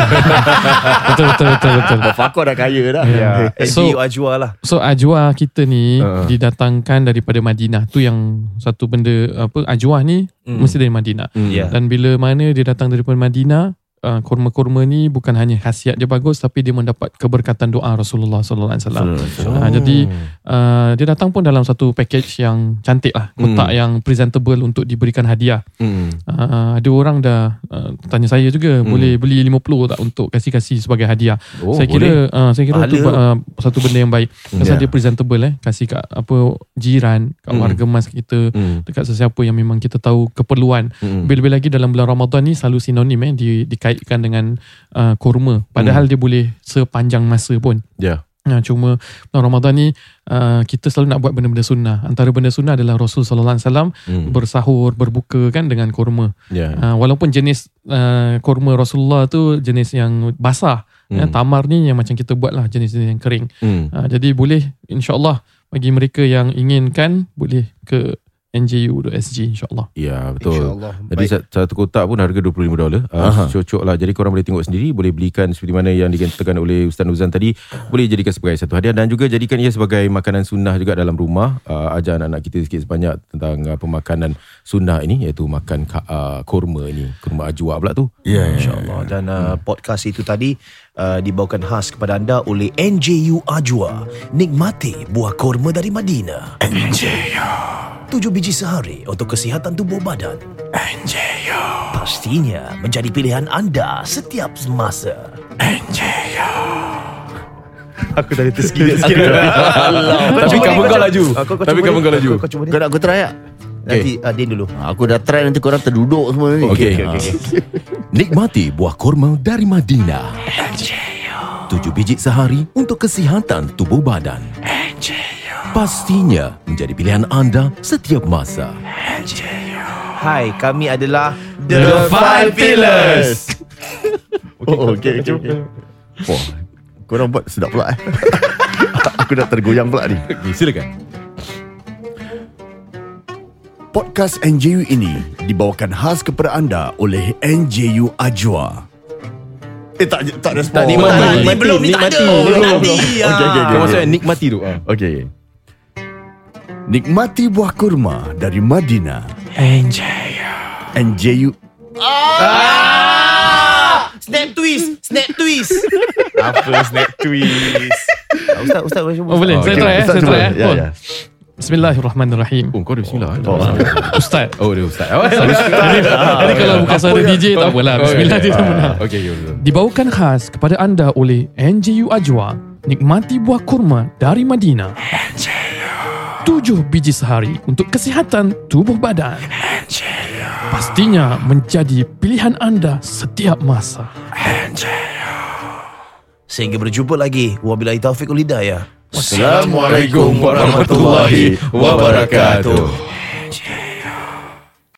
Betul. Mufakor dah kaya dah. NGU Ajwa lah. So Ajwa kita ni didatangkan daripada Madinah. Tu yang satu benda Ajwa ni mesti dari Madinah. Dan bila mana dia datang daripada Madinah, kurma-kurma ni bukan hanya khasiat dia bagus, tapi dia mendapat keberkatan doa Rasulullah sallallahu alaihi wasallam. Jadi dia datang pun dalam satu package yang cantik lah, kotak yang presentable untuk diberikan hadiah. Ada orang dah tanya saya juga, boleh beli 50 tak untuk kasih sebagai hadiah. Saya kira tu satu benda yang baik. Pasal dia presentable, kasih kat jiran, kat warga mas kita, dekat sesiapa yang memang kita tahu keperluan. Bila-bila lagi dalam bulan Ramadan ni selalu sinonim dikaitkan dengan kurma, padahal dia boleh sepanjang masa pun. Cuma bulan Ramadan ni kita selalu nak buat benda-benda sunnah. Antara benda sunnah adalah Rasul sallallahu alaihi wasallam bersahur, berbuka kan dengan kurma. Walaupun jenis kurma Rasulullah tu jenis yang basah, tamar ni yang macam kita buat lah, jenis-jenis yang kering. Jadi boleh, insyaAllah bagi mereka yang inginkan, boleh ke NJU.SG insyaAllah. Ya, betul. Jadi satu kotak pun harga $25. Cocok lah. Jadi korang boleh tengok sendiri, boleh belikan seperti mana yang dikatakan oleh Ustaz Nuzan tadi, boleh jadikan sebagai satu hadiah dan juga jadikan ia sebagai makanan sunnah juga dalam rumah. Ajar anak-anak kita sikit sebanyak tentang pemakanan sunnah ini, iaitu makan kurma ini, kurma ajwa pula tu. InsyaAllah. Dan podcast itu tadi dibawakan khas kepada anda oleh NJU Ajwa. Nikmati buah kurma dari Madinah. NJU 7 biji sehari untuk kesihatan tubuh badan. NJU pastinya menjadi pilihan anda setiap masa. NJU. Aku tadi tersikit. Tapi kamu kau laju. Kau nak aku try tak? Nanti Din dulu. Aku dah try, nanti korang terduduk semua ni. Okay. Nikmati buah kurma dari Madinah. NJU 7 biji sehari untuk kesihatan tubuh badan. NJU pastinya menjadi pilihan anda setiap masa. Hai, kami adalah The Five Pillars. Okay. Wah, korang buat sedap pula. Aku dah tergoyang pula ni. Silakan. Podcast NJU ini dibawakan khas kepada anda oleh NJU Ajwa. Tak respon. Nikmati. Okay. Maksudnya nikmati tu. Okay. Nikmati buah kurma dari Madinah. NJU. Snap twist. Apa snap twist? Ustaz boleh. Saya try. Ya. Bismillahirrahmanirrahim. Kau ada bismillah. Ustaz. Dia ustaz. Jadi kalau bukan suara DJ tak apalah. Bismillah dia tak benar. Okay. Dibawakan khas kepada anda oleh NJU Ajwa. Nikmati buah kurma dari Madinah. 7 biji sehari untuk kesihatan tubuh badan. Pastinya menjadi pilihan anda setiap masa. Sehingga berjumpa lagi. Wabillahi taufiq wal hidayah. Wassalamualaikum warahmatullahi wabarakatuh.